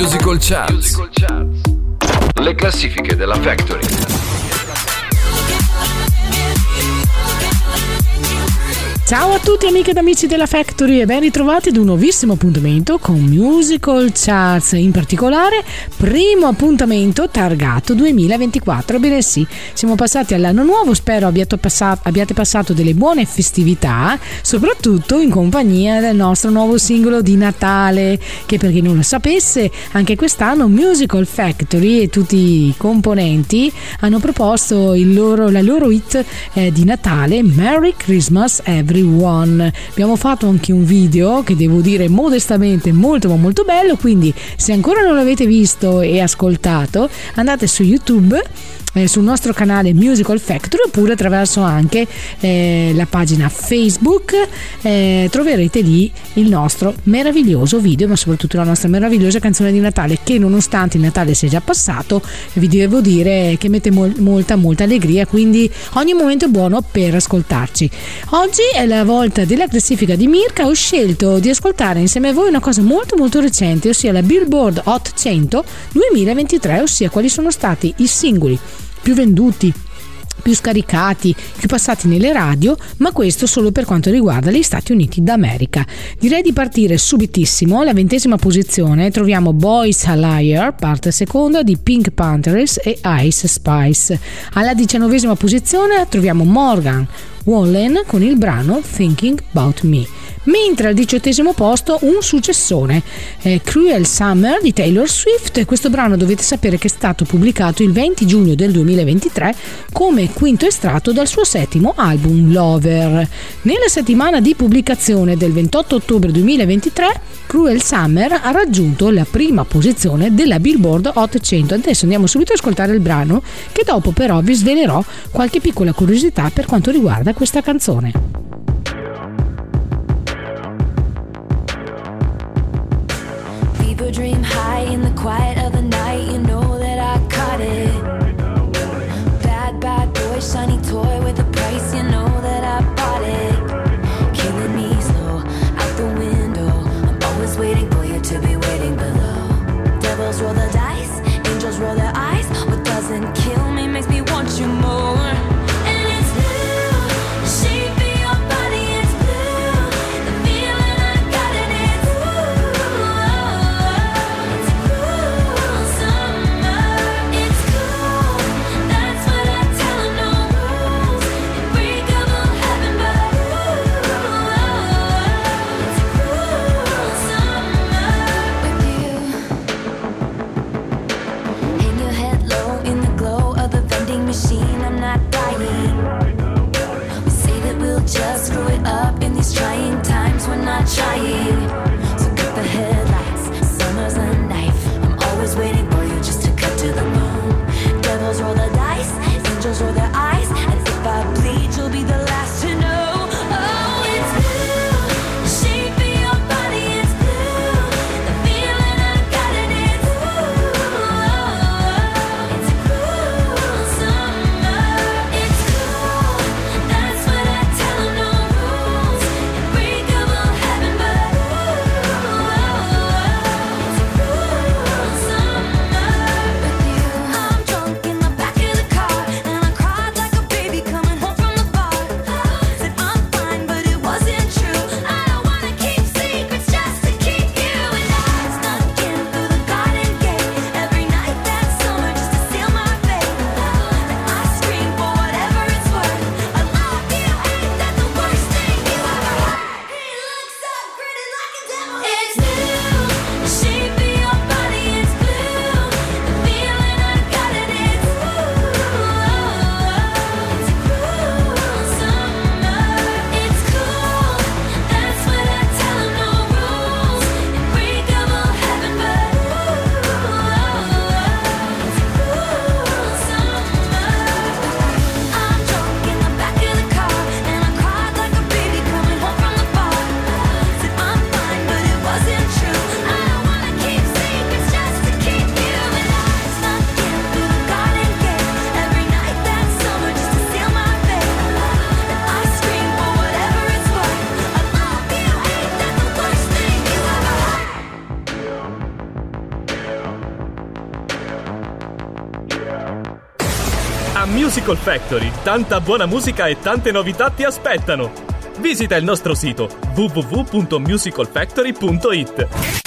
Musical Charts. Le classifiche della Factory. Ciao a tutti amiche ed amici della Factory e ben ritrovati ad un nuovissimo appuntamento con Musical Charts, in particolare primo appuntamento targato 2024. Bene sì, siamo passati all'anno nuovo, spero abbiate passato delle buone festività, soprattutto in compagnia del nostro nuovo singolo di Natale, che per chi non lo sapesse anche quest'anno Musical Factory e tutti i componenti hanno proposto la loro hit di Natale, Merry Christmas Everyone. Abbiamo fatto anche un video che devo dire modestamente molto ma molto bello, quindi se ancora non l'avete visto e ascoltato andate su YouTube, sul nostro canale Musical Factory, oppure attraverso anche la pagina Facebook, troverete lì il nostro meraviglioso video, ma soprattutto la nostra meravigliosa canzone di Natale, che nonostante il Natale sia già passato vi devo dire che mette molta allegria, quindi ogni momento è buono per ascoltarci. Oggi è la volta della classifica di Mirka. Ho scelto di ascoltare insieme a voi una cosa molto recente, ossia la Billboard Hot 100 2023, ossia quali sono stati i singoli più venduti, più scaricati, più passati nelle radio, ma questo solo per quanto riguarda gli Stati Uniti d'America. Direi di partire subitissimo. Alla 20ª posizione troviamo Boys a Liar, parte seconda di Pink Panthers e Ice Spice. Alla 19ª posizione troviamo Morgan Wallen con il brano Thinking About Me. Mentre al 18º posto un successone, Cruel Summer di Taylor Swift. Questo brano dovete sapere che è stato pubblicato il 20 giugno del 2023 come quinto estratto dal suo 7º album Lover. Nella settimana di pubblicazione del 28 ottobre 2023 Cruel Summer ha raggiunto la prima posizione della Billboard Hot 100. Adesso andiamo subito ad ascoltare il brano, che dopo però vi svelerò qualche piccola curiosità per quanto riguarda questa canzone. Dream high in the quiet of the night, you know that I caught it. Bad boy, shiny toy with a price, you know that I bought it. Killing me slow, out the window, I'm always waiting for you to be waiting below. Devils roll the dice, angels roll their eyes. What doesn't kill me makes me want you more. Ooh. Musical Factory, tanta buona musica e tante novità ti aspettano. Visita il nostro sito www.musicalfactory.it.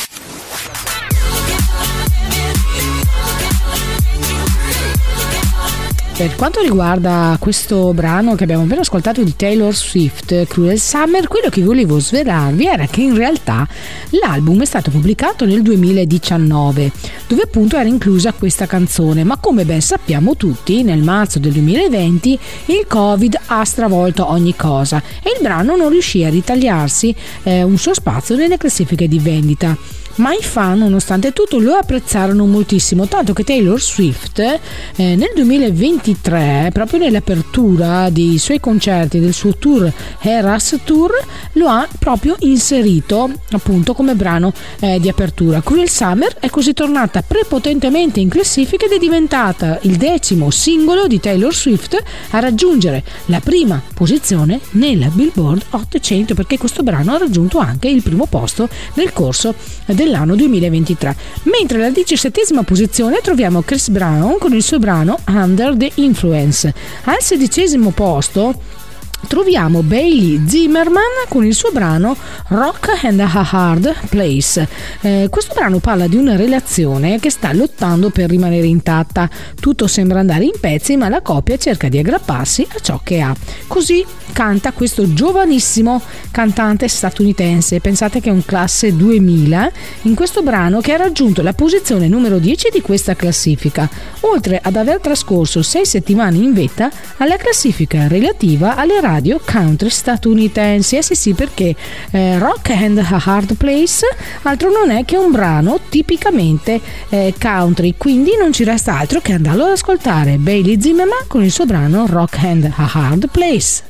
Per quanto riguarda questo brano che abbiamo appena ascoltato di Taylor Swift, Cruel Summer, quello che volevo svelarvi era che in realtà l'album è stato pubblicato nel 2019, dove appunto era inclusa questa canzone, ma come ben sappiamo tutti, nel marzo del 2020 il Covid ha stravolto ogni cosa e il brano non riuscì a ritagliarsi un suo spazio nelle classifiche di vendita. Ma i fan, nonostante tutto, lo apprezzarono moltissimo, tanto che Taylor Swift nel 2023, proprio nell'apertura dei suoi concerti del suo tour Eras Tour, lo ha proprio inserito appunto come brano di apertura. Cruel Summer è così tornata prepotentemente in classifica ed è diventata il 10° singolo di Taylor Swift a raggiungere la prima posizione nella Billboard Hot 100, perché questo brano ha raggiunto anche il primo posto nel corso dell'anno 2023. Mentre alla 17ª posizione troviamo Chris Brown con il suo brano Under the Influence. Al 16° posto troviamo Bailey Zimmerman con il suo brano Rock and a Hard Place. Questo brano parla di una relazione che sta lottando per rimanere intatta. Tutto sembra andare in pezzi, ma la coppia cerca di aggrapparsi a ciò che ha. Così canta questo giovanissimo cantante statunitense. Pensate che è un classe 2000 in questo brano, che ha raggiunto la posizione numero 10 di questa classifica, oltre ad aver trascorso 6 settimane in vetta alla classifica relativa alle radio country statunitensi. Sì, perché Rock and a Hard Place altro non è che un brano tipicamente country, quindi non ci resta altro che andarlo ad ascoltare. Bailey Zimmerman con il suo brano Rock and a Hard Place.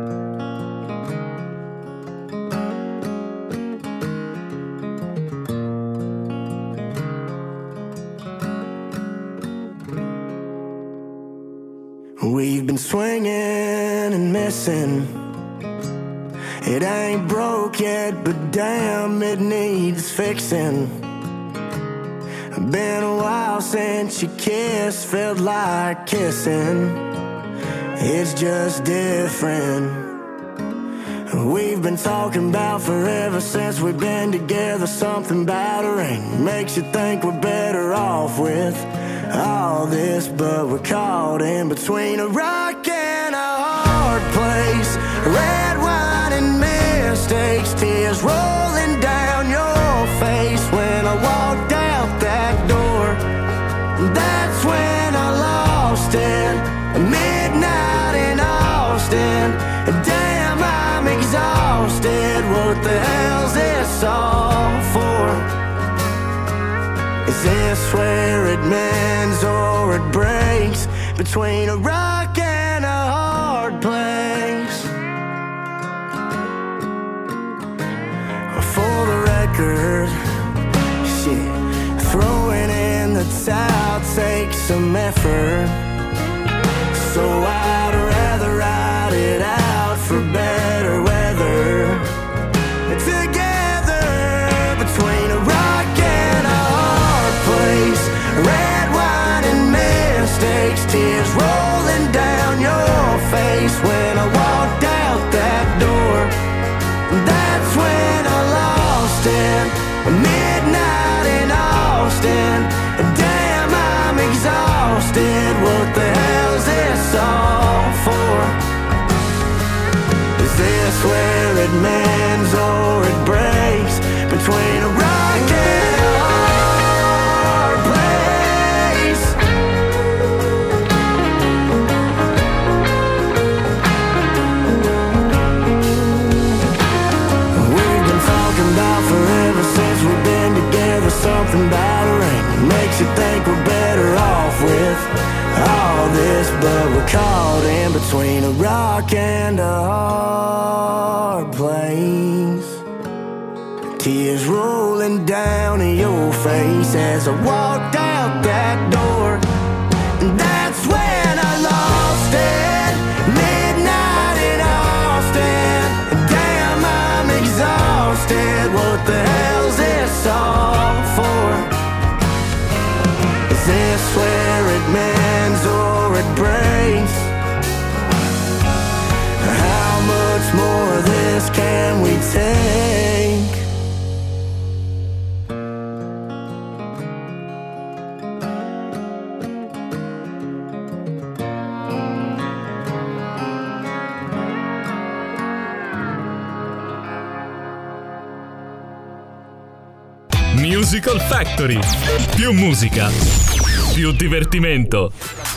We've been swinging and missing. It ain't broke yet, but damn, it needs fixing. Been a while since you kissed, felt like kissing. It's just different. We've been talking about forever since we've been together. Something about a ring makes you think we're better off with all this, but we're caught in between a rock and a hard place. Red wine and mistakes, tears rolling down your face. When I walked out that door, that's when I lost it. Midnight in Austin, damn, I'm exhausted. What the hell's this all for? Is this where it mends or it breaks? Between a rock and a hard place. For the record, shit, throwing in the towel takes some effort. So I'd rather ride it out for better weather. Together, between a rock and a hard place. Red wine and mistakes, tears rolling down your face. When I walked out that door, that's when I lost it. Midnight in Austin, damn, I'm exhausted. What the hell's this all for? Is this where it mends or it breaks? Between a rock and a hard place. We've been talking about forever since we've been together. Something about a ring makes you think we're better off with all this, but we're caught in between a rock and a hard place. Tears rolling down your face as I walked out that door. And that's when I lost it. Midnight in Austin. Damn, I'm exhausted. What the hell's this all for? Is this where it mends or it breaks? take. Musical Factory. Più musica, più divertimento.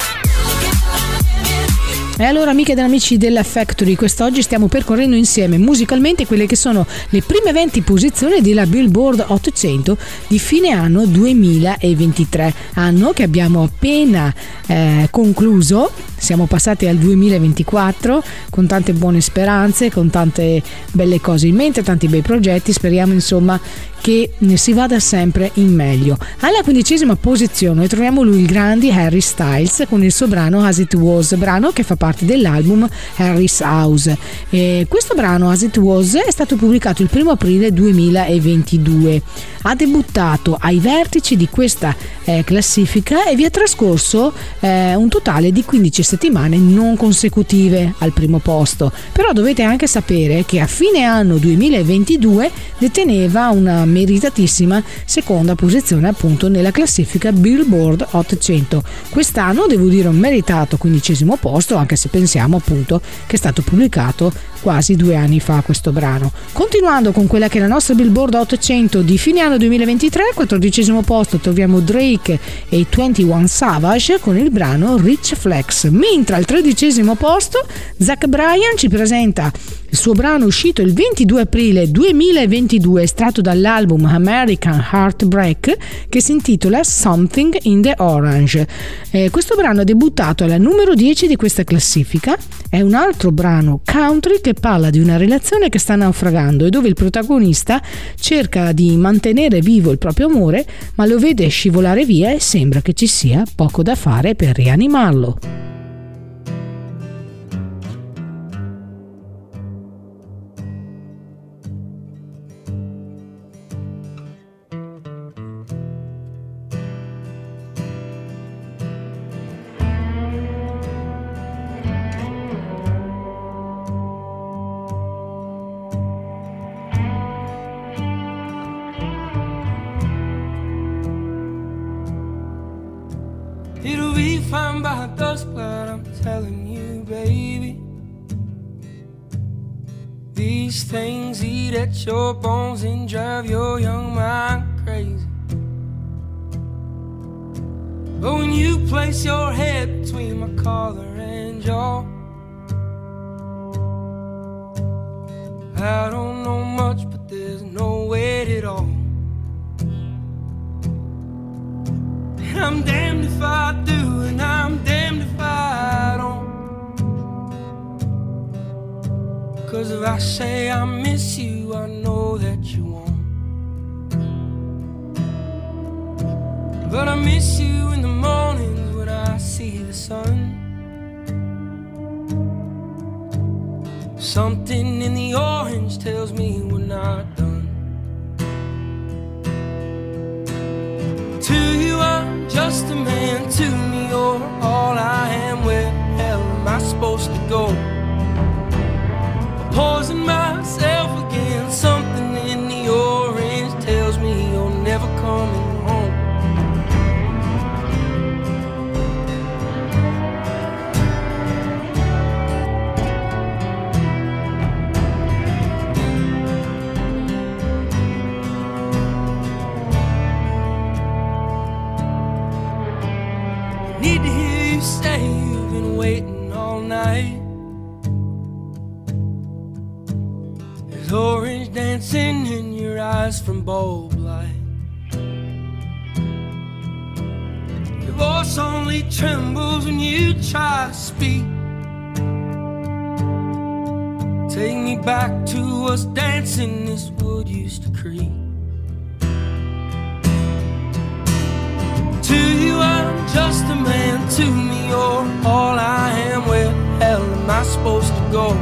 E allora, amiche ed amici della Factory, quest'oggi stiamo percorrendo insieme musicalmente quelle che sono le prime 20 posizioni della Billboard 800 di fine anno 2023, anno che abbiamo appena concluso. Siamo passati al 2024 con tante buone speranze, con tante belle cose in mente, tanti bei progetti. Speriamo insomma che si vada sempre in meglio. Alla 15ª posizione troviamo lui, il grande Harry Styles, con il suo brano As It Was, brano che fa parte dell'album Harry's House. Questo brano As It Was è stato pubblicato il 1 aprile 2022. Ha debuttato ai vertici di questa classifica e vi è trascorso un totale di 15 settimane non consecutive al primo posto. Però dovete anche sapere che a fine anno 2022 deteneva una meritatissima seconda posizione appunto nella classifica Billboard 800. Quest'anno devo dire un meritato 15° posto, anche se pensiamo appunto che è stato pubblicato quasi 2 anni fa questo brano. Continuando con quella che è la nostra Billboard 800 di fine anno 2023, al 14° posto troviamo Drake e 21 Savage con il brano Rich Flex, mentre al 13° posto Zach Bryan ci presenta il suo brano uscito il 22 aprile 2022, estratto dall'album American Heartbreak, che si intitola Something in the Orange. Questo brano è debuttato alla numero 10 di questa classifica. È un altro brano country che parla di una relazione che sta naufragando e dove il protagonista cerca di mantenere vivo il proprio amore, ma lo vede scivolare via e sembra che ci sia poco da fare per rianimarlo. It'll be fine by dusk, but I'm telling you, baby, these things eat at your bones and drive your young mind crazy. But when you place your head between my collar and jaw, I don't know much, but there's no weight at all. And I'm damned if I do, and I'm damned if I don't. 'Cause if I say I miss you, I know that you won't. But I miss you in the mornings when I see the sun. Something in the orange tells me we're not done. To you I'm just a man, to me you're all I am. Where the hell am I supposed to go? Poison myself again. Something in the orange tells me you're never coming home. Need to hear you say you've been waiting all night. There's orange dancing in your eyes from bulb light. Your voice only trembles when you try to speak. Take me back to us dancing this wood used to creak. To you I'm just a man, to me you're all I am. Where the hell am I supposed to go?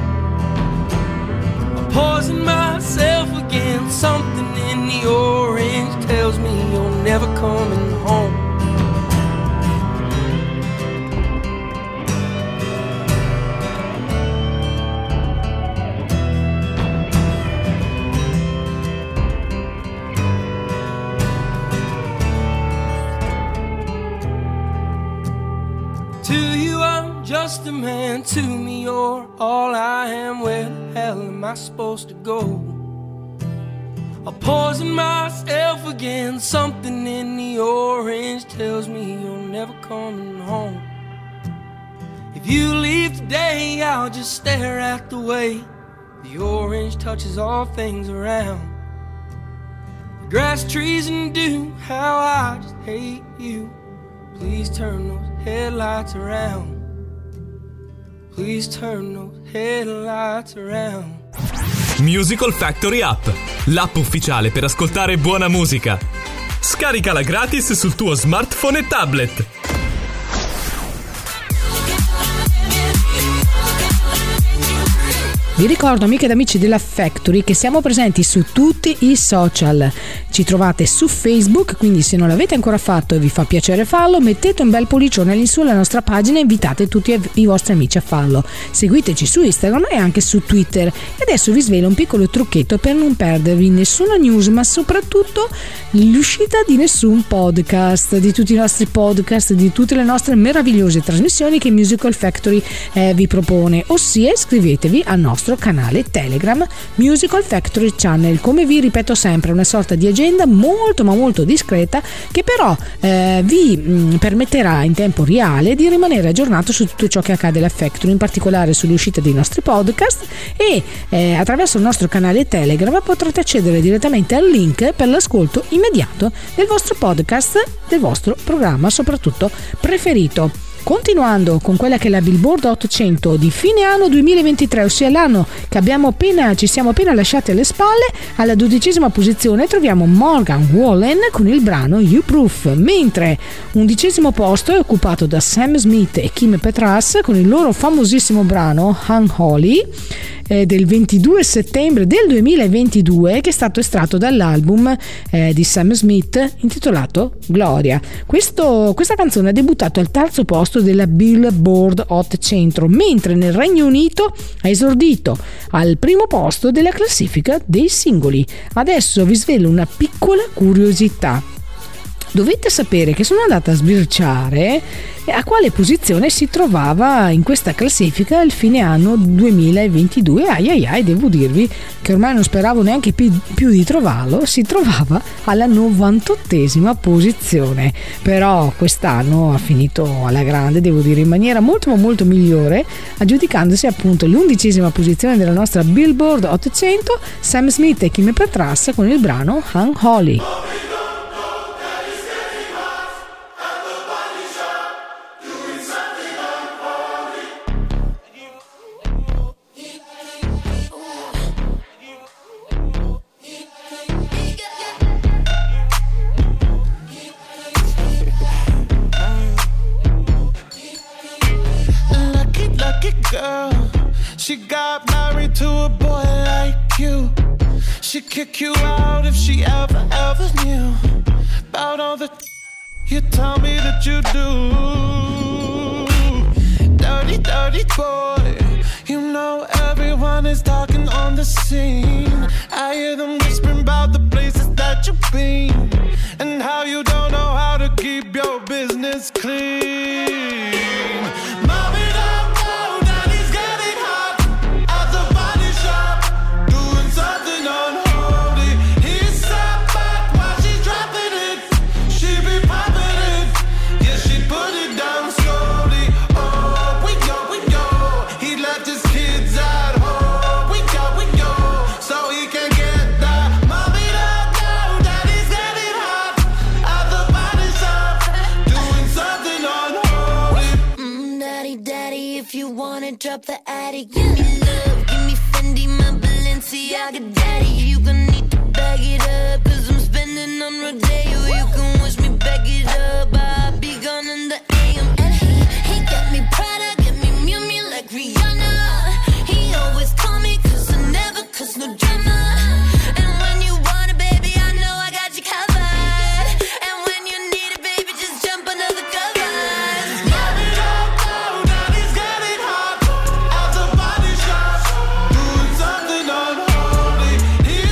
I poison myself again. Something in the orange tells me you're never coming home. just a man to me, you're all I am. Where the hell am I supposed to go? I'm poisoning myself again. Something in the orange tells me you're never coming home. If you leave today, I'll just stare at the way the orange touches all things around. The grass, trees, and dew, how I just hate you. Please turn those headlights around. Please turn those headlights around. Musical Factory App, l'app ufficiale per ascoltare buona musica. Scaricala gratis sul tuo smartphone e tablet. Vi ricordo, amiche ed amici della Factory, che siamo presenti su tutti i social. Ci trovate su Facebook, quindi se non l'avete ancora fatto e vi fa piacere farlo, mettete un bel pollicione all'insù alla nostra pagina e invitate tutti i vostri amici a farlo. Seguiteci su Instagram e anche su Twitter. E adesso vi svelo un piccolo trucchetto per non perdervi nessuna news, ma soprattutto l'uscita di nessun podcast, di tutti i nostri podcast, di tutte le nostre meravigliose trasmissioni che Musical Factory vi propone. Ossia, iscrivetevi al nostro canale Telegram Musical Factory Channel. Come vi ripeto sempre, è una sorta di agenda molto ma molto discreta che però vi permetterà in tempo reale di rimanere aggiornato su tutto ciò che accade alla Factory, in particolare sulle uscite dei nostri podcast, e attraverso il nostro canale Telegram potrete accedere direttamente al link per l'ascolto immediato del vostro podcast, del vostro programma soprattutto preferito. Continuando con quella che è la Billboard 800 di fine anno 2023, ossia l'anno che ci siamo appena lasciati alle spalle, alla 12ª posizione troviamo Morgan Wallen con il brano You Proof, mentre 11° posto è occupato da Sam Smith e Kim Petras con il loro famosissimo brano Unholy del 22 settembre del 2022, che è stato estratto dall'album di Sam Smith intitolato Gloria. Questa canzone ha debuttato al terzo posto della Billboard 800, mentre nel Regno Unito ha esordito al primo posto della classifica dei singoli. Adesso vi svelo una piccola curiosità. Dovete sapere che sono andata a sbirciare a quale posizione si trovava in questa classifica il fine anno 2022. Devo dirvi che ormai non speravo neanche più di trovarlo. Si trovava alla 98ª posizione, però quest'anno ha finito alla grande, devo dire, in maniera molto ma molto migliore, aggiudicandosi appunto l'11ª posizione della nostra Billboard 800, Sam Smith e Kim Petras con il brano Unholy. Girl, she got married to a boy like you. She'd kick you out if she ever knew about all the you tell me that you do. Dirty, dirty boy. You know everyone is talking on the scene. I hear them whispering about the places that you've been and how you don't know how to keep your business clean. Mommy, don't go, daddy's getting hot at the body shop, doing something unholy. He's sat back while she's dropping it. She be popping it, yeah, she put it down slowly. Oh, we go, he left his kids at home. We go, so he can get that. Mommy, don't go, daddy's getting hot at the body shop, doing something unholy. Daddy, if you wanna drop the attic, give me love, give me Fendi, my Balenciaga. Daddy, you gon' need to bag it up, 'cause I'm spending on Rodeo. You can wish me back it up, I'll be gone in the AM. And he got me Prada, got me Miu Miu like Rihanna. He always call me 'cause I never cause no drama. And when you want it, baby, I know I got you covered. And when you need it, baby, just jump under the covers. Mommy, don't go, daddy's getting hot at the body shop, doing something unholy. He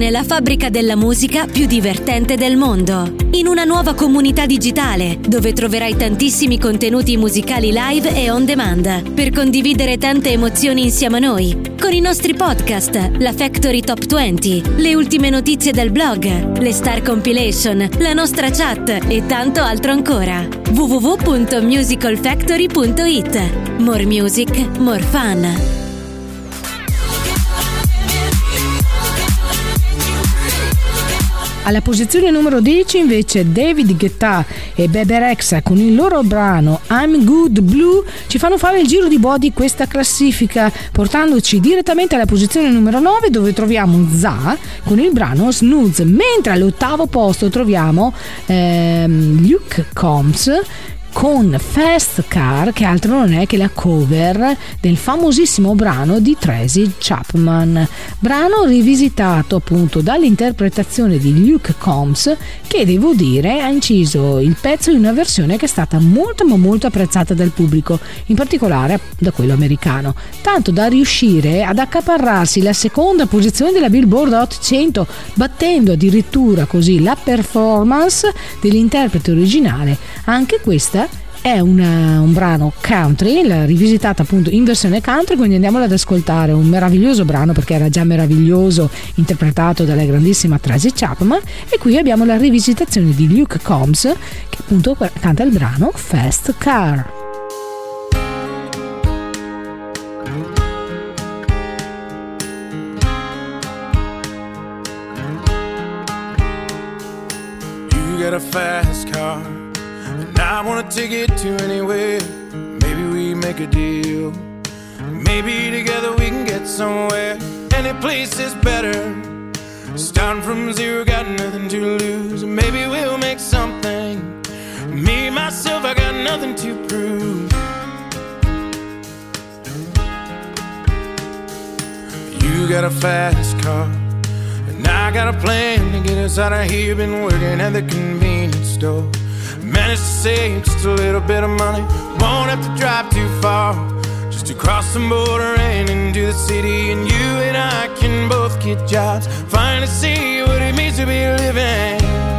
nella fabbrica della musica più divertente del mondo. In una nuova comunità digitale, dove troverai tantissimi contenuti musicali live e on demand, per condividere tante emozioni insieme a noi, con i nostri podcast, la Factory Top 20, le ultime notizie del blog, le Star Compilation, la nostra chat e tanto altro ancora. www.musicalfactory.it. More music, more fun. Alla posizione numero 10 invece David Guetta e Bebe Rexha con il loro brano I'm Good Blue ci fanno fare il giro di boa di questa classifica, portandoci direttamente alla posizione numero 9, dove troviamo Za con il brano Snooze, mentre all'8° posto troviamo Luke Combs con Fast Car, che altro non è che la cover del famosissimo brano di Tracy Chapman, brano rivisitato appunto dall'interpretazione di Luke Combs, che devo dire ha inciso il pezzo in una versione che è stata molto ma molto apprezzata dal pubblico, in particolare da quello americano, tanto da riuscire ad accaparrarsi la seconda posizione della Billboard Hot 100, battendo addirittura così la performance dell'interprete originale. Anche questa è un brano country, rivisitata appunto in versione country, quindi andiamolo ad ascoltare, un meraviglioso brano perché era già meraviglioso, interpretato dalla grandissima Tracy Chapman, e qui abbiamo la rivisitazione di Luke Combs che appunto canta il brano Fast Car. You got a fast car, I wanna take it to anywhere. Maybe we make a deal. Maybe together we can get somewhere. Any place is better. Starting from zero, got nothing to lose. Maybe we'll make something. Me, myself, I got nothing to prove. You got a fast car, and I got a plan to get us out of here. Been working at the convenience store. Managed to save just a little bit of money. Won't have to drive too far, just to cross the border and into the city. And you and I can both get jobs, finally see what it means to be living.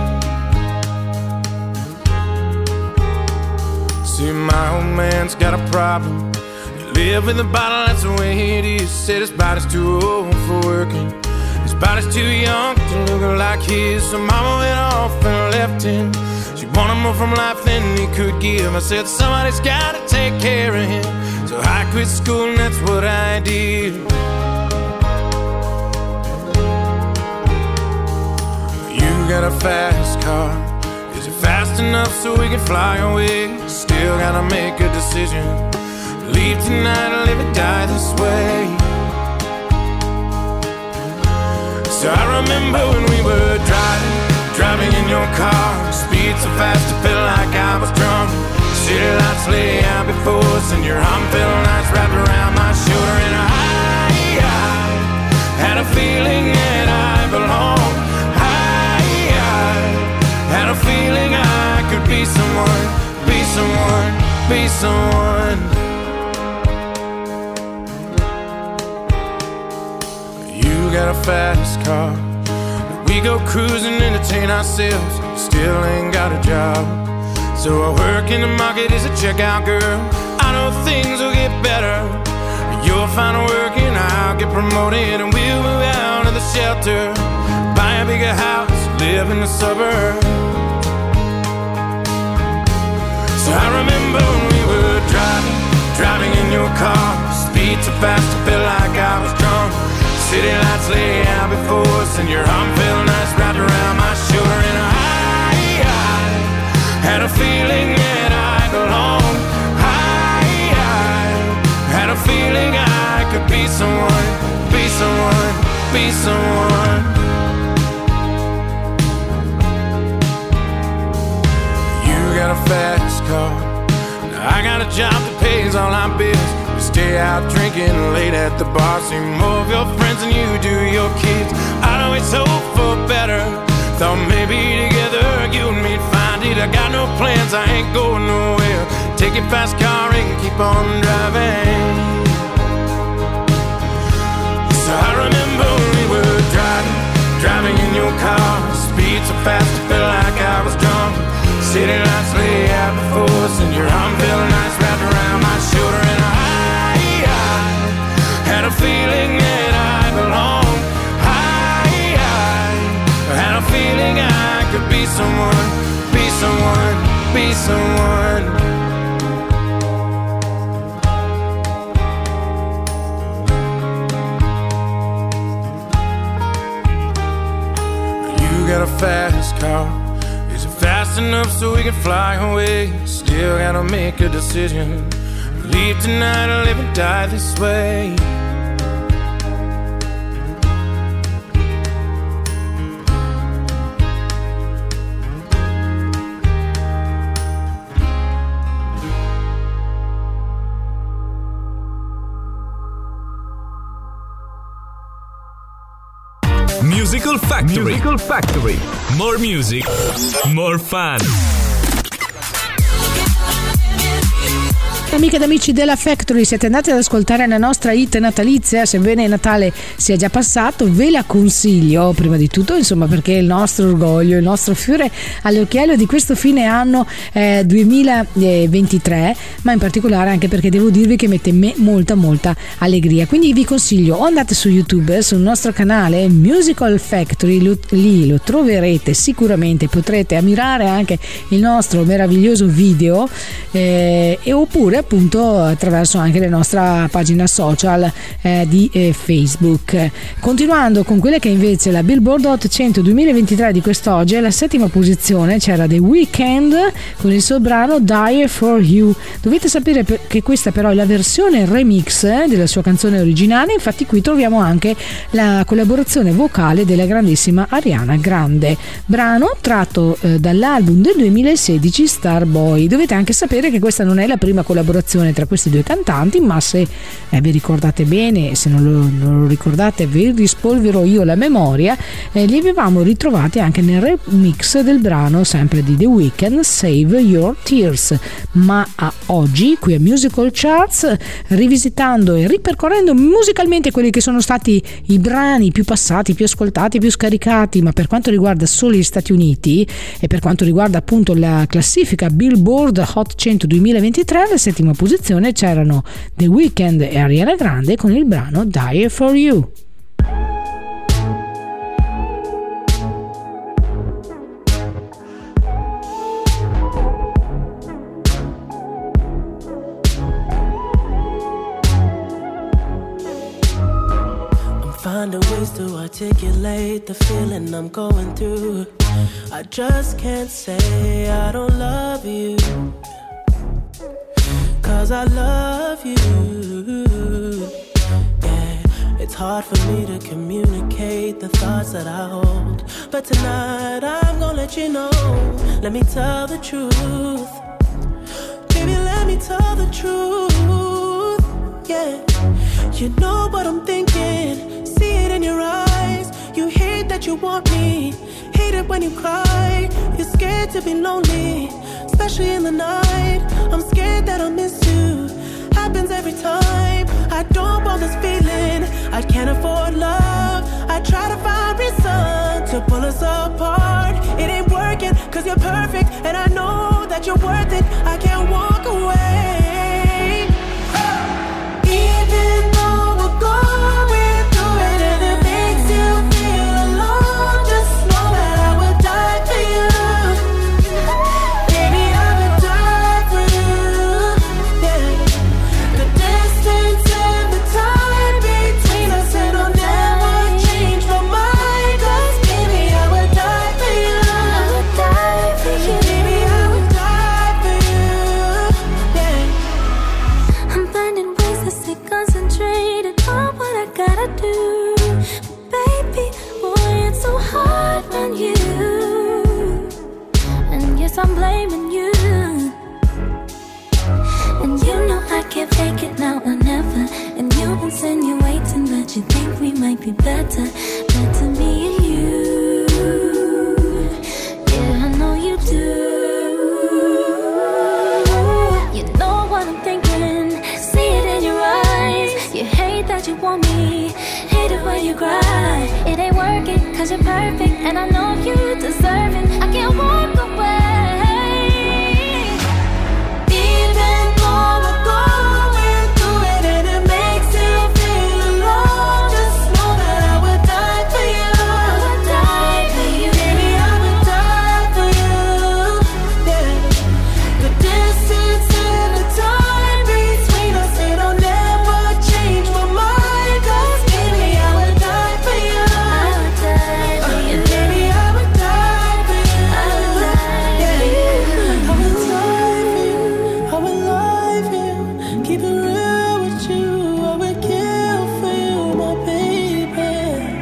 See, my old man's got a problem. You live in the bottle, that's the way it is. Said his body's too old for working, his body's too young to look like his. So mama went off and left him. She wanted more from life than he could give. I said somebody's gotta take care of him, so I quit school and that's what I did. You got a fast car, is it fast enough so we can fly away? Still gotta make a decision, leave tonight or live or die this way. So I remember when we were driving in your car, speed so fast it felt like I was drunk. City lights lay out before us and your arm felt nice wrapped around my shoulder. And I had a feeling that I belonged. I had a feeling I could be someone, be someone, be someone. You got a fast car, we go cruising, entertain ourselves. Still ain't got a job, so I work in the market as a checkout girl. I know things will get better. You'll find work and I'll get promoted, and we'll move out of the shelter, buy a bigger house, live in the suburbs. So I remember when we were driving in your car, speed so fast I felt like I was drunk. City lights lay out before us and your arm felt nice wrapped around my shoulder. And I had a feeling that I belonged. I had a feeling I could be someone, be someone, be someone. You got a fast car, now I got a job that pays all our bills. Stay out drinking late at the bar, see more of your friends than you do your kids. I'd always hope for better, thought maybe together you and me'd find it. I got no plans, I ain't going nowhere. Take your fast car and keep on driving. So I remember when we were driving beat so fast I feel like I was drunk. City lights lay out before us, and your arm felt nice wrapped around my shoulder. And I had a feeling that I belonged. I had a feeling I could be someone, be someone, be someone. You got a fast car. Is it fast enough so we can fly away? Still gotta make a decision. Leave tonight or live and die this way. Musical Factory. Musical Factory. More music, more fun. Amiche ed amici della Factory, siete andati ad ascoltare la nostra hit natalizia, sebbene Natale sia già passato, ve la consiglio prima di tutto, insomma, perché è il nostro orgoglio, il nostro fiore all'occhiello di questo fine anno 2023, ma in particolare anche perché devo dirvi che mette molta allegria. Quindi vi consiglio, o andate su YouTube, sul nostro canale Musical Factory, lì lo troverete sicuramente, potrete ammirare anche il nostro meraviglioso video, oppure appunto attraverso anche la nostra pagina social di Facebook. Continuando con quella che è invece la Billboard Hot 100 2023 di quest'oggi, alla settima posizione c'era The Weeknd con il suo brano Die For You. Dovete sapere che questa però è la versione remix della sua canzone originale, infatti qui troviamo anche la collaborazione vocale della grandissima Ariana Grande, brano tratto dall'album del 2016 Starboy. Dovete anche sapere che questa non è la prima collaborazione tra questi due cantanti, ma se vi ricordate bene, se non lo ricordate vi rispolverò io la memoria, li avevamo ritrovati anche nel remix del brano sempre di The Weeknd, Save Your Tears. Ma oggi qui a Musical Charts, rivisitando e ripercorrendo musicalmente quelli che sono stati i brani più passati, più ascoltati, più scaricati, ma per quanto riguarda solo gli Stati Uniti e per quanto riguarda appunto la classifica Billboard Hot 100 2023, alla settima posizione c'erano The Weeknd e Ariana Grande con il brano Die For You. Finding ways to articulate the feeling I'm going through. I just can't say I don't love you, 'cause I love you. Yeah, it's hard for me to communicate the thoughts that I hold, but tonight I'm gonna let you know. Let me tell the truth. Baby, let me tell the truth. Yeah, you know what I'm thinking. See it in your eyes. You hate that you want me. Hate it when you cry. You're scared to be lonely, especially in the night. I'm scared that I'll miss you. Happens every time. I don't want this feeling. I can't afford love. I try to find reason to pull us apart. It ain't working 'cause you're perfect, and I know that you're worth it. I can't walk away. Even though we're going through it and it makes you feel alone, just know that I would die for you. Baby, I would die for you. Yeah. The distance and the time between us, it'll never change my mind. 'Cause baby, I would die for you. I would die for you. Baby, I would die for you. Yeah. I'm finding ways to stay concentrated on what I gotta do. Baby, boy, it's so hard on you. And yes, I'm blaming you. And you know I can't fake it now or never. And you're insinuating that you think we might be better. Better me and you. Yeah, I know you do. You know what I'm thinking. See it in your eyes. You hate that you want me. Hate it when you cry. It ain't working 'cause you're perfect and I know you deserve it. I can't walk away. Even though we're going through it and it makes you feel alone, just know that I would die for you. I would die for you. Baby, I would die for you. Yeah. The distance and the time between us, it'll never change my mind. 'Cause baby, I would die for you. I would die for you. And baby, I would die for you. I would die for you. I would die for you, I would lie for you, keep it real with you, I would kill for you, my baby.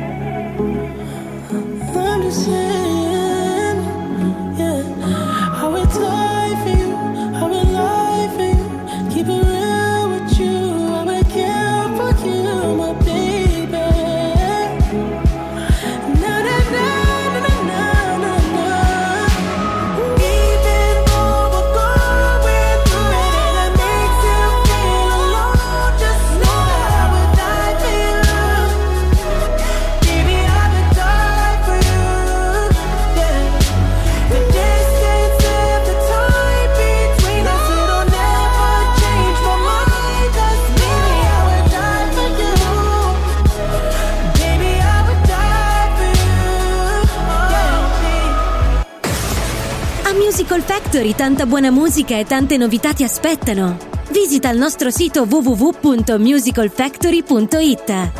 I'm just saying, yeah. I would die for you, I would lie for you, keep it real with you, I would kill for you, my baby. Na na na na na na na. Even though we're going through it and it makes you feel alone, just know that I would die for you. Baby, I would die for you. Yeah. The distance and the time between us, it'll never change my mind. 'Cause baby, I would die for you. Baby, I would die for you. Yeah. A Musical Factory tanta buona musica e tante novità ti aspettano. Visita il nostro sito www.musicalfactory.it.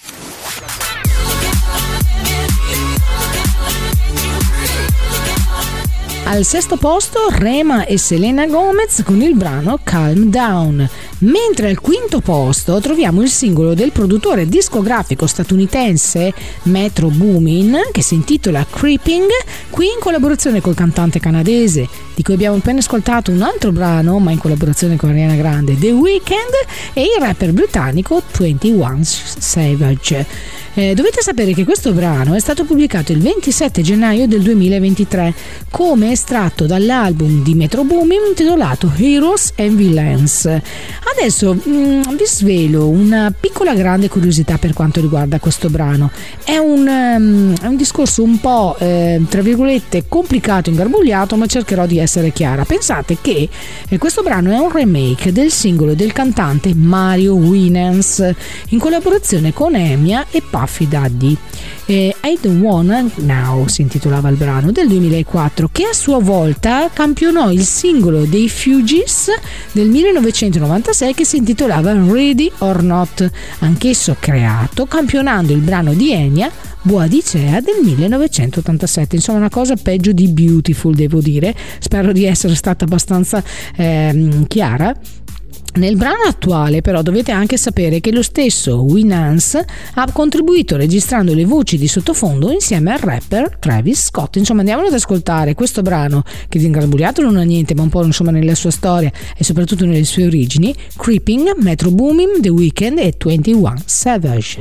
Al sesto posto Rema e Selena Gomez con il brano Calm Down, mentre al quinto posto troviamo il singolo del produttore discografico statunitense Metro Boomin che si intitola Creeping, qui in collaborazione col cantante canadese di cui abbiamo appena ascoltato un altro brano ma in collaborazione con Ariana Grande, The Weeknd, e il rapper britannico 21 Savage. Dovete sapere che questo brano è stato pubblicato il 27 gennaio del 2023 come estratto dall'album di Metro Boomin intitolato Heroes and Villains. Adesso vi svelo una piccola grande curiosità per quanto riguarda questo brano. È un discorso un po' tra virgolette complicato, ingarbugliato, ma cercherò di essere chiara. Pensate che questo brano è un remake del singolo del cantante Mario Winans in collaborazione con Enya e Puffy Daddy. I Don't Wanna Now si intitolava il brano, del 2004, che a sua volta campionò il singolo dei Fugees del 1996 che si intitolava Ready or Not, anch'esso creato campionando il brano di Enya Boadicea del 1987. Insomma, una cosa peggio di Beautiful, devo dire. Spero di essere stata abbastanza chiara. Nel brano attuale però dovete anche sapere che lo stesso Winans ha contribuito registrando le voci di sottofondo insieme al rapper Travis Scott. Insomma, andiamolo ad ascoltare questo brano che di ingarbugliato non ha niente, ma un po' insomma nella sua storia e soprattutto nelle sue origini. Creeping, Metro Boomin, The Weeknd e 21 Savage.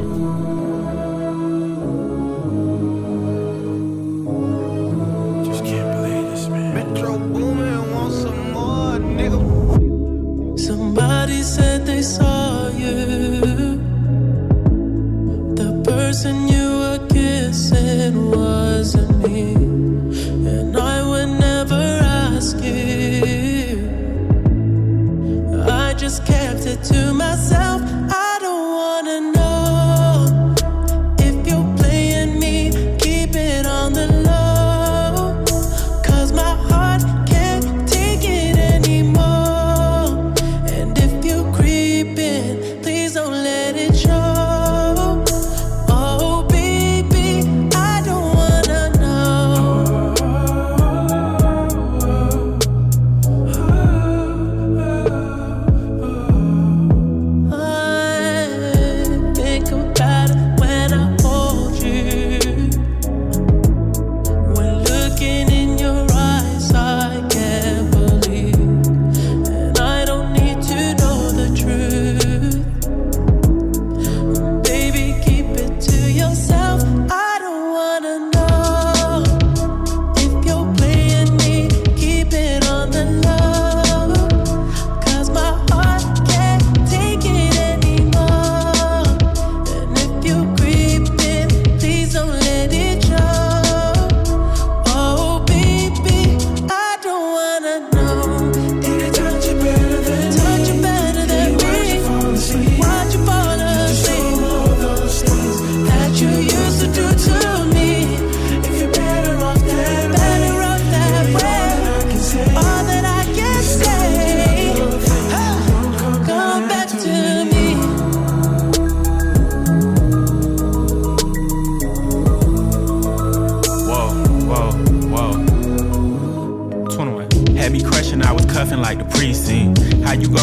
Somebody said they saw you. The person you were kissing wasn't me, and I would never ask you. I just kept it to myself. I don't wanna know if you're playing me. Keep it on the low, 'cause my heart can't take it anymore. Please don't let it show. Oh baby, I don't wanna know.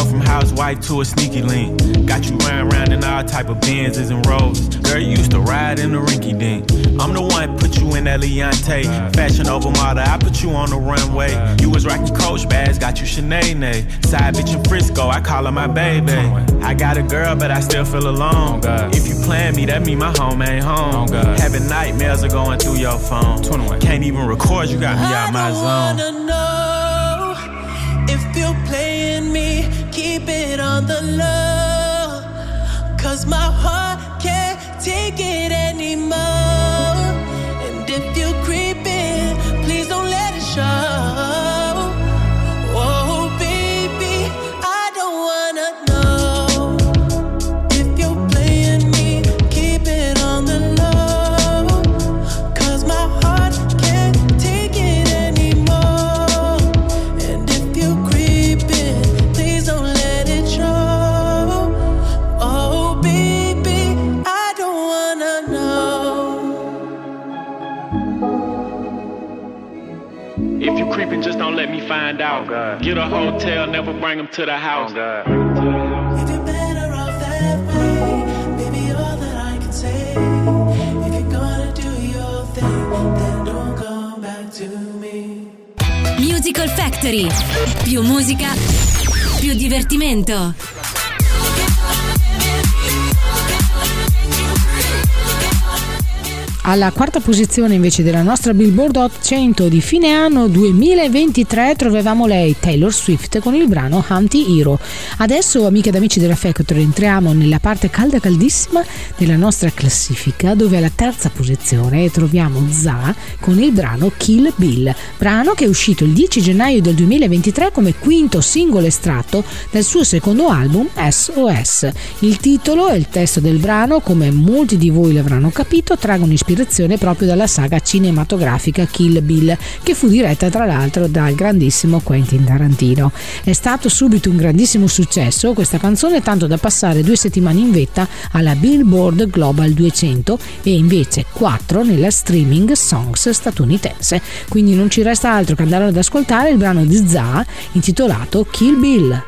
from housewife to a sneaky link. Got you round in all type of Benzes and Rolls. Girl, you used to ride in the rinky dink. I'm the one put you in that Leontay. Fashion over model, I put you on the runway. You was rocking Coach bags, got you Sinead. Side bitch in Frisco, I call her my baby. I got a girl, but I still feel alone. If you plan me, that mean my home ain't home. Having nightmares are going through your phone. Can't even record, you got me out my zone. I wanna know if you're playing me, keep it on the low. 'Cause my heart can't take it anymore. And if you're creeping, please don't let it show. Oh baby, I don't wanna know if you're playing me, keep it on the low. 'Cause my heart can't take it anymore. And if you're creeping, please don't let it show. Oh baby, I don't wanna know. If you creeping, just don't let me find out. Get a hotel, never bring them to the house. If you're better off that way, baby, all that I can say. If you're gonna do your thing, then don't come back to me. Musical Factory. Più musica, più divertimento. Alla quarta posizione invece della nostra Billboard Hot 100 di fine anno 2023 trovavamo lei, Taylor Swift, con il brano Anti-Hero. Adesso, amiche ed amici della Factory, entriamo nella parte calda caldissima della nostra classifica, dove alla terza posizione troviamo ZA con il brano Kill Bill, brano che è uscito il 10 gennaio del 2023 come quinto singolo estratto dal suo secondo album SOS. Il titolo e il testo del brano, come molti di voi l'avranno capito, traggono ispirazione proprio dalla saga cinematografica Kill Bill, che fu diretta tra l'altro dal grandissimo Quentin Tarantino. È stato subito un grandissimo successo questa canzone, tanto da passare 2 settimane in vetta alla Billboard Global 200 e invece 4 nella Streaming Songs statunitense. Quindi non ci resta altro che andare ad ascoltare il brano di ZA intitolato Kill Bill.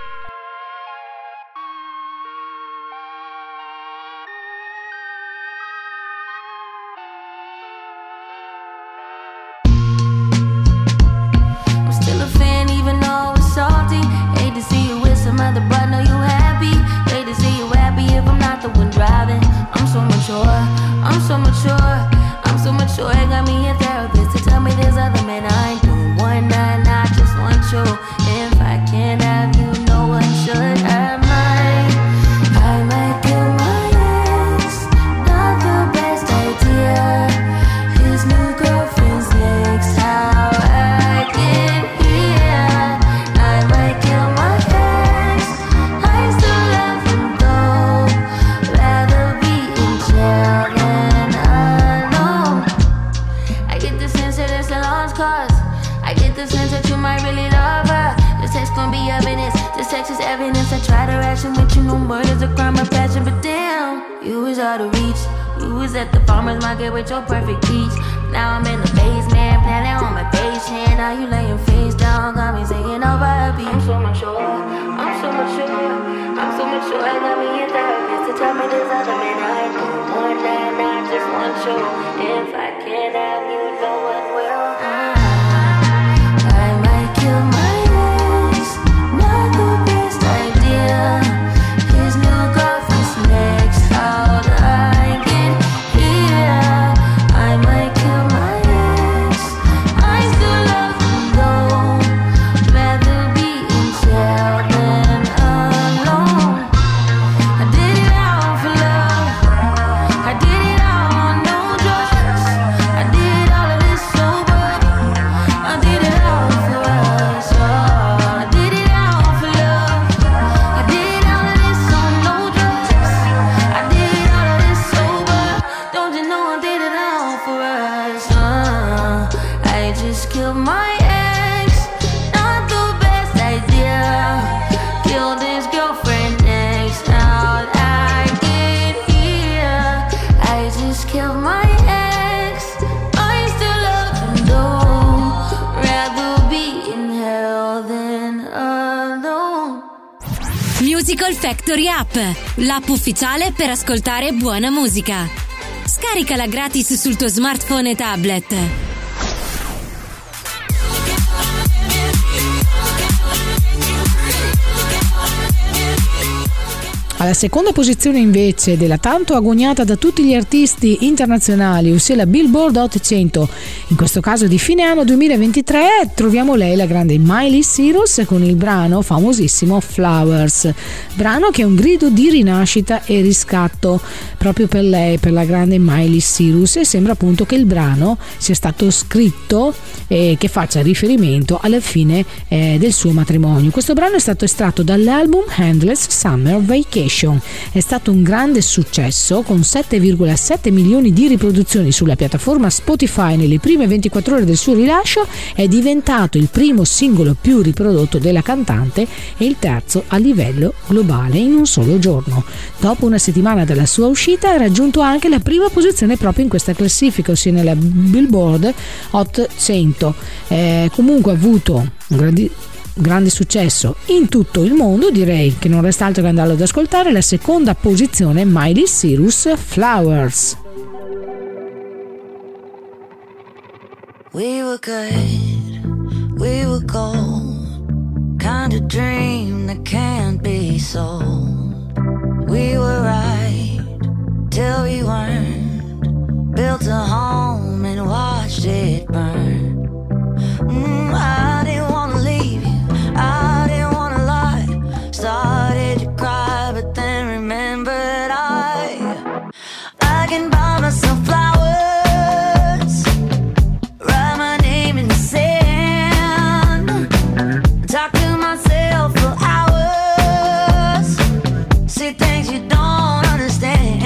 With your perfect peach. Now I'm in the basement, planning on my patient. Now you laying face down, got me singing over a beat. I'm so mature, I'm so mature, I'm so mature. I got me a therapist to tell me there's other men I do more than I just want you. If I can't have you, no one will. I might kill my ex, not the best idea. His new girlfriend's next out. I get here. I might kill my ex. I still love him though. Rather be in jail than alone. I did it all for love. I did it all on no drugs. I did it all Musical Factory App, l'app ufficiale per ascoltare buona musica. Scaricala gratis sul tuo smartphone e tablet. Alla seconda posizione invece della tanto agognata da tutti gli artisti internazionali, ossia la Billboard Hot 100, in questo caso di fine anno 2023, troviamo lei, la grande Miley Cyrus, con il brano famosissimo Flowers, brano che è un grido di rinascita e riscatto proprio per lei, per la grande Miley Cyrus, e sembra appunto che il brano sia stato scritto e che faccia riferimento alla fine del suo matrimonio. Questo brano è stato estratto dall'album Endless Summer Vacation. È stato un grande successo con 7,7 milioni di riproduzioni sulla piattaforma Spotify nelle prime 24 ore del suo rilascio. È diventato il primo singolo più riprodotto della cantante e il terzo a livello globale in un solo giorno. Dopo una settimana dalla sua uscita ha raggiunto anche la prima posizione proprio in questa classifica, ossia nella Billboard Hot 100. Comunque ha avuto un grande successo in tutto il mondo, direi che non resta altro che andarlo ad ascoltare. La seconda posizione, Miley Cyrus, Flowers. We were good, we were gold, kind of dream that can't be sold. We were right till we weren't, built a home and watched it burn. I didn't wanna leave you, I didn't wanna lie. Started to cry, but then remembered I can buy myself flowers, write my name in the sand, talk to myself for hours, see things you don't understand.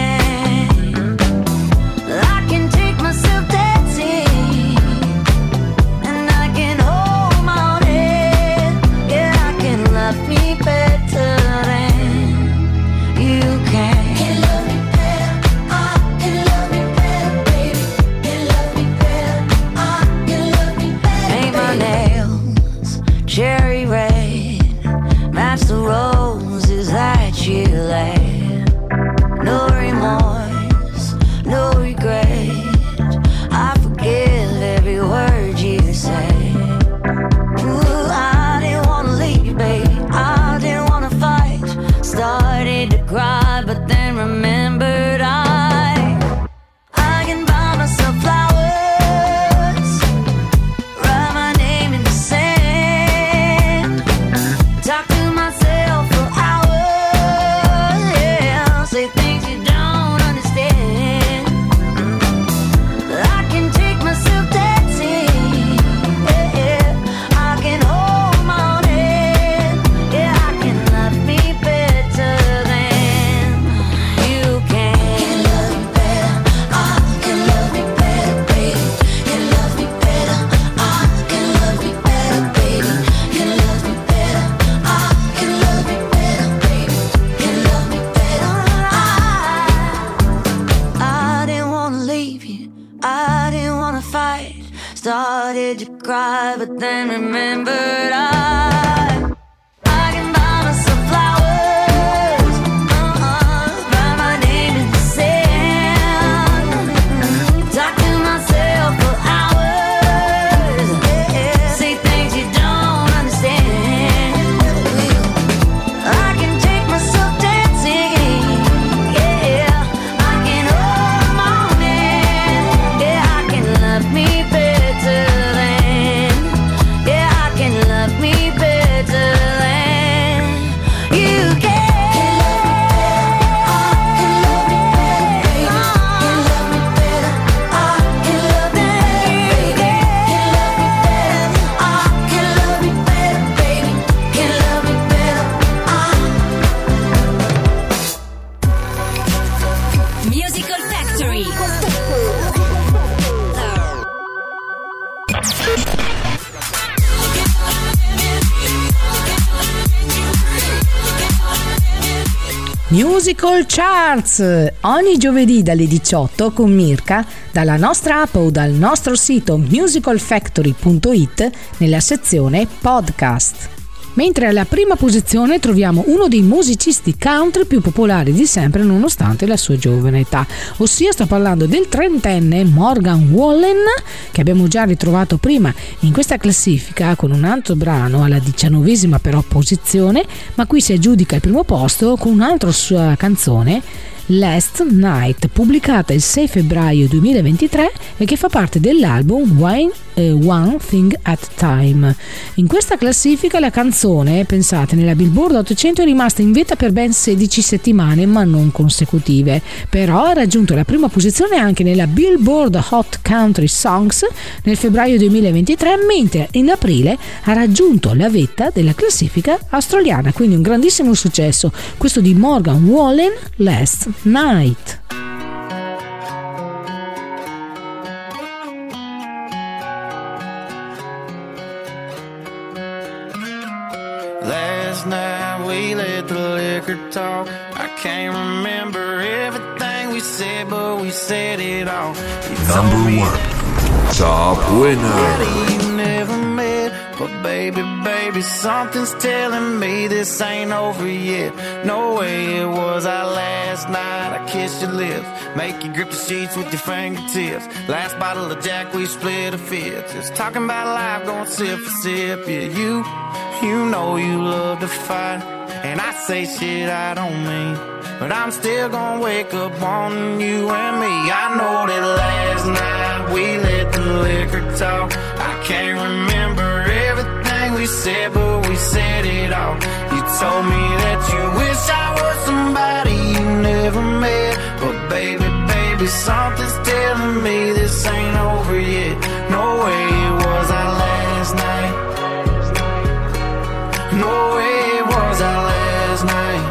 I can take myself dancing, and I can hold my own head. Yeah, I can love me better than you can. Can love me better, I can love me better, baby. Can love me better, I can love me better. Paint my nails cherry red, match the roses that you laid. No remorse, no regret, I forgive every word you say. Ooh, I didn't wanna leave you, baby, I didn't wanna fight. Started to cry, but then remembered I can buy myself flowers, write my name in the sand, talk to myself for hours, yeah, say things you don't understand. I can take myself dancing, yeah, I can hold my own head, yeah, I can love me better than you can. Can love me better, I can love me better, baby. Can love me better, I can love me better, baby. Can love me better, I can love me better, baby. Can love me better, I didn't wanna leave you, I didn't wanna fight. Started to cry, but then remembered I can buy myself flowers, write my name in the sand, talk to myself for hours, yeah, say things you don't understand. I can take myself dancing, yeah, I can hold my own hand, yeah, I can love me better than, yeah, I can love me better than you can. Musical Factory. Musical Charts, ogni giovedì dalle 18 con Mirka, dalla nostra app o dal nostro sito musicalfactory.it nella sezione podcast. Mentre alla prima posizione troviamo uno dei musicisti country più popolari di sempre nonostante la sua giovane età, ossia sto parlando del trentenne Morgan Wallen, che abbiamo già ritrovato prima in questa classifica con un altro brano alla 19ª però posizione, ma qui si aggiudica il primo posto con un'altra sua canzone, Last Night, pubblicata il 6 febbraio 2023 e che fa parte dell'album One Thing at a Time. In questa classifica la canzone, pensate, nella Billboard 800 è rimasta in vetta per ben 16 settimane ma non consecutive, però ha raggiunto la prima posizione anche nella Billboard Hot Country Songs nel febbraio 2023, mentre in aprile ha raggiunto la vetta della classifica australiana, quindi un grandissimo successo questo di Morgan Wallen, Last Night. Last night we let the liquor talk. I can't remember everything we said, but we said it all. Number one, top winner. You never met, but baby, something's telling me this ain't over yet. No way it was our last night. I kissed your lips, make you grip the sheets with your fingertips. Last bottle of Jack, we split a fifth. Just talking about life, going sip for sip. Yeah, you know you love to fight, and I say shit I don't mean, but I'm still gonna wake up wanting you and me. I know that last night we let the liquor talk. I can't remember everything we said, but we said it all. You told me that you wish I was somebody you never met, but baby, something's telling me this ain't over yet. No way it was our last night. No way it was our last night.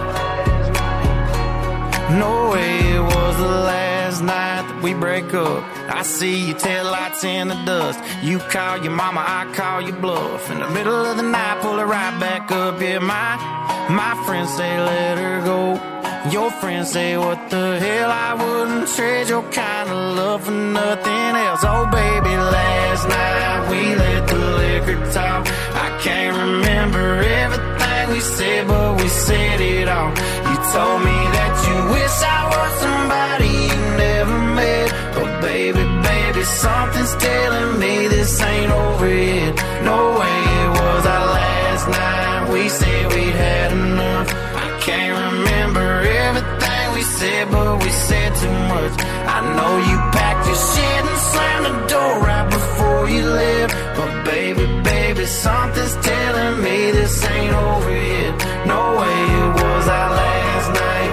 No way it was the last night that we break up. I see your taillights in the dust. You call your mama, I call your bluff. In the middle of the night, pull her right back up. Yeah, my friends say let her go. Your friends say what the hell, I wouldn't trade your kind of love for nothing else. Oh baby, last night we let the liquor talk. I can't remember everything we said, but we said it all. You told me that you wish I was somebody you never met, but baby, something's telling me this ain't over yet. No way it was our last night. We said we'd had enough. I can't remember everything we said, but we said too much. I know you packed your shit and slammed the door right before you left, but baby, something's telling me this ain't over yet. No way it was our last night.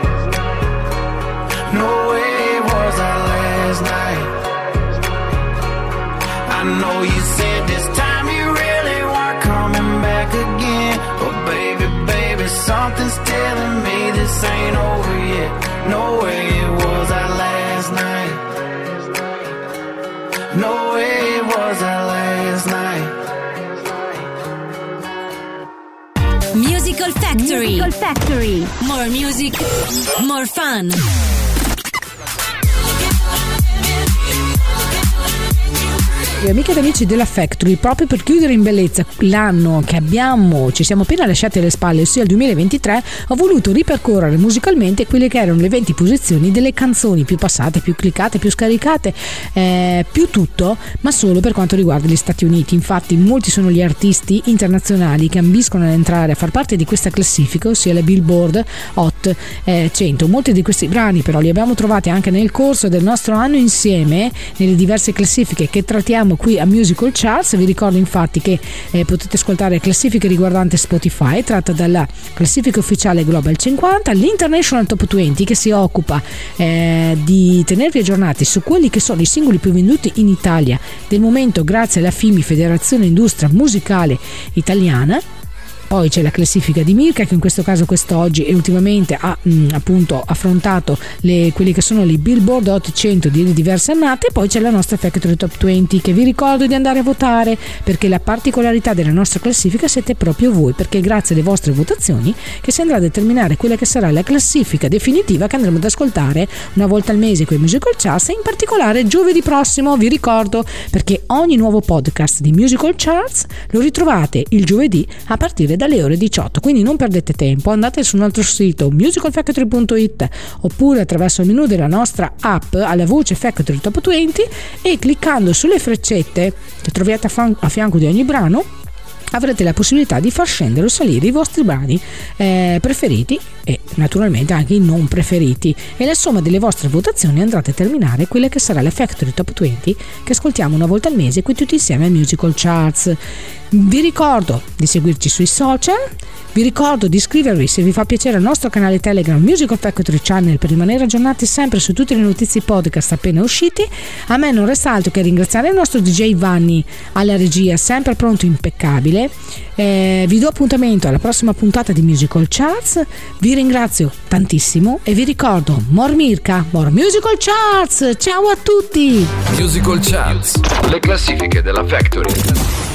No way it was our last night. I know you said this time you really weren't coming back again, but baby, something's telling me this ain't over yet. No way it was our last night. No way it was our last night. Musical Factory. More music, more fun. Amiche ed amici della Factory, proprio per chiudere in bellezza l'anno che ci siamo appena lasciati alle spalle, ossia il 2023, ho voluto ripercorrere musicalmente quelle che erano le 20 posizioni delle canzoni più passate, più cliccate, più scaricate, più tutto, ma solo per quanto riguarda gli Stati Uniti. Infatti molti sono gli artisti internazionali che ambiscono ad entrare a far parte di questa classifica, ossia la Billboard Hot 100. Molti di questi brani però li abbiamo trovati anche nel corso del nostro anno insieme nelle diverse classifiche che trattiamo qui a Musical Charts. Vi ricordo infatti che potete ascoltare classifiche riguardanti Spotify, tratta dalla classifica ufficiale Global 50, l'International Top 20 che si occupa di tenervi aggiornati su quelli che sono i singoli più venduti in Italia del momento grazie alla FIMI, Federazione Industria Musicale Italiana. Poi c'è la classifica di Mirka, che in questo caso quest'oggi e ultimamente ha appunto affrontato quelli che sono le Billboard Hot 100 di diverse annate. E poi c'è la nostra Factory Top 20, che vi ricordo di andare a votare, perché la particolarità della nostra classifica siete proprio voi, perché è grazie alle vostre votazioni che si andrà a determinare quella che sarà la classifica definitiva che andremo ad ascoltare una volta al mese con i Musical Charts, e in particolare giovedì prossimo, vi ricordo, perché ogni nuovo podcast di Musical Charts lo ritrovate il giovedì a partire dalle ore 18, quindi non perdete tempo, andate sul nostro sito musicalfactory.it oppure attraverso il menu della nostra app alla voce Factory Top 20 e cliccando sulle freccette che trovate a fianco di ogni brano avrete la possibilità di far scendere o salire i vostri brani preferiti e naturalmente anche i non preferiti, e la somma delle vostre votazioni andrà a determinare quella che sarà la Factory Top 20 che ascoltiamo una volta al mese qui tutti insieme a Musical Charts. Vi ricordo di seguirci sui social, vi ricordo di iscrivervi, se vi fa piacere, al nostro canale Telegram Musical Factory Channel per rimanere aggiornati sempre su tutte le notizie podcast appena usciti. A me non resta altro che ringraziare il nostro DJ Vanni alla regia, sempre pronto, impeccabile. Vi do appuntamento alla prossima puntata di Musical Charts, vi ringrazio tantissimo e vi ricordo more Mirka, more Musical Charts. Ciao a tutti! Musical Charts, le classifiche della Factory.